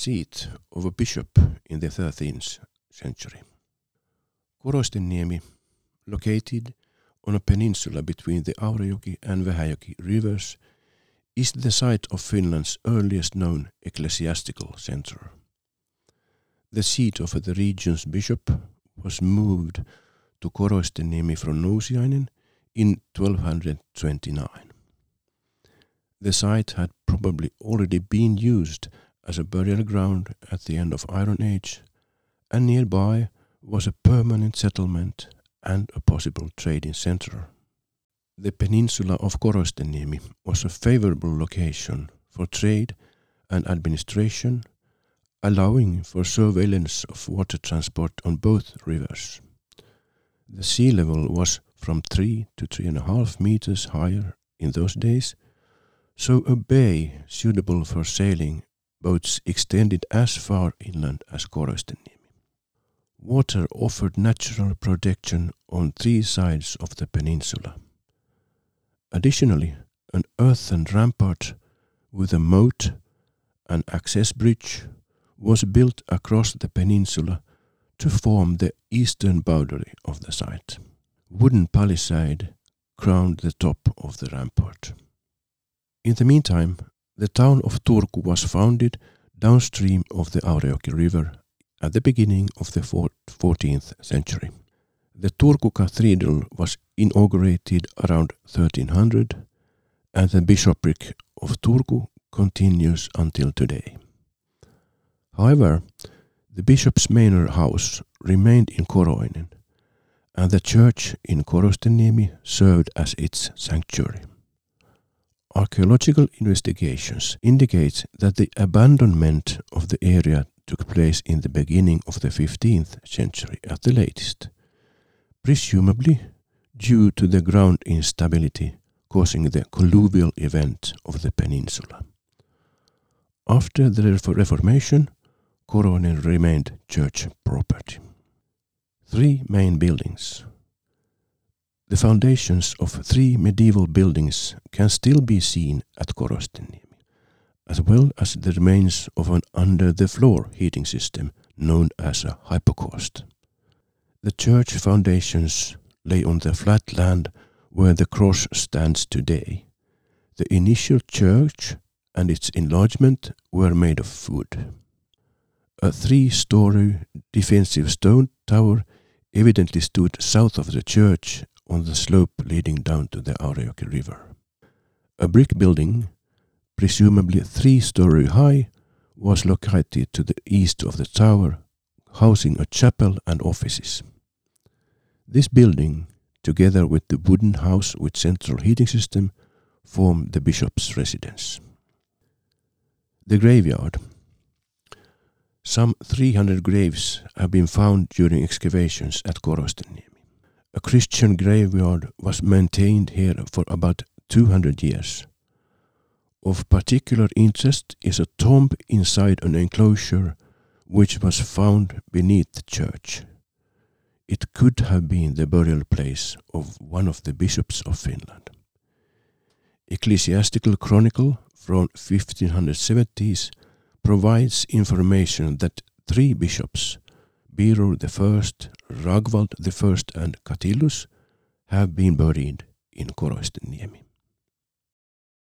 seat of a bishop in the 13th century. Korosteniemi, located on a peninsula between the Aurajoki and Vähäjoki rivers, is the site of Finland's earliest known ecclesiastical centre. The seat of the region's bishop was moved to Korosteniemi from Nousiainen in 1229. The site had probably already been used as a burial ground at the end of Iron Age, and nearby was a permanent settlement and a possible trading centre. The peninsula of Korosteniemi was a favourable location for trade and administration, allowing for surveillance of water transport on both rivers. The sea level was from 3 to 3.5 meters higher in those days, so a bay suitable for sailing boats extended as far inland as Korosteniemi. Water offered natural protection on 3 sides of the peninsula. Additionally, an earthen rampart with a moat and access bridge was built across the peninsula to form the eastern boundary of the site. Wooden palisade crowned the top of the rampart. In the meantime, the town of Turku was founded downstream of the Aurajoki river at the beginning of the 14th century. The Turku Cathedral was inaugurated around 1300, and the bishopric of Turku continues until today. However, the bishop's manor house remained in Koroinen, and the church in Korosteniemi served as its sanctuary. Archaeological investigations indicate that the abandonment of the area took place in the beginning of the 15th century at the latest, presumably due to the ground instability causing the colluvial event of the peninsula. After the Reformation, Koroinen remained church property. 3 main buildings. The foundations of 3 medieval buildings can still be seen at Korosteniemi, as well as the remains of an under-the-floor heating system known as a hypocaust. The church foundations lay on the flat land where the cross stands today. The initial church and its enlargement were made of wood. A 3-story defensive stone tower evidently stood south of the church on the slope leading down to the Aurajoki river. A brick building, presumably 3-story high, was located to the east of the tower, housing a chapel and offices. This building, together with the wooden house with central heating system, formed the bishop's residence. The graveyard. Some 300 graves have been found during excavations at Korosteniemi. A Christian graveyard was maintained here for about 200 years. Of particular interest is a tomb inside an enclosure which was found beneath the church. It could have been the burial place of one of the bishops of Finland. Ecclesiastical Chronicle from 1570s provides information that 3 bishops, Birur I, Ragvald I and Catillus, have been buried in Korosteniemi.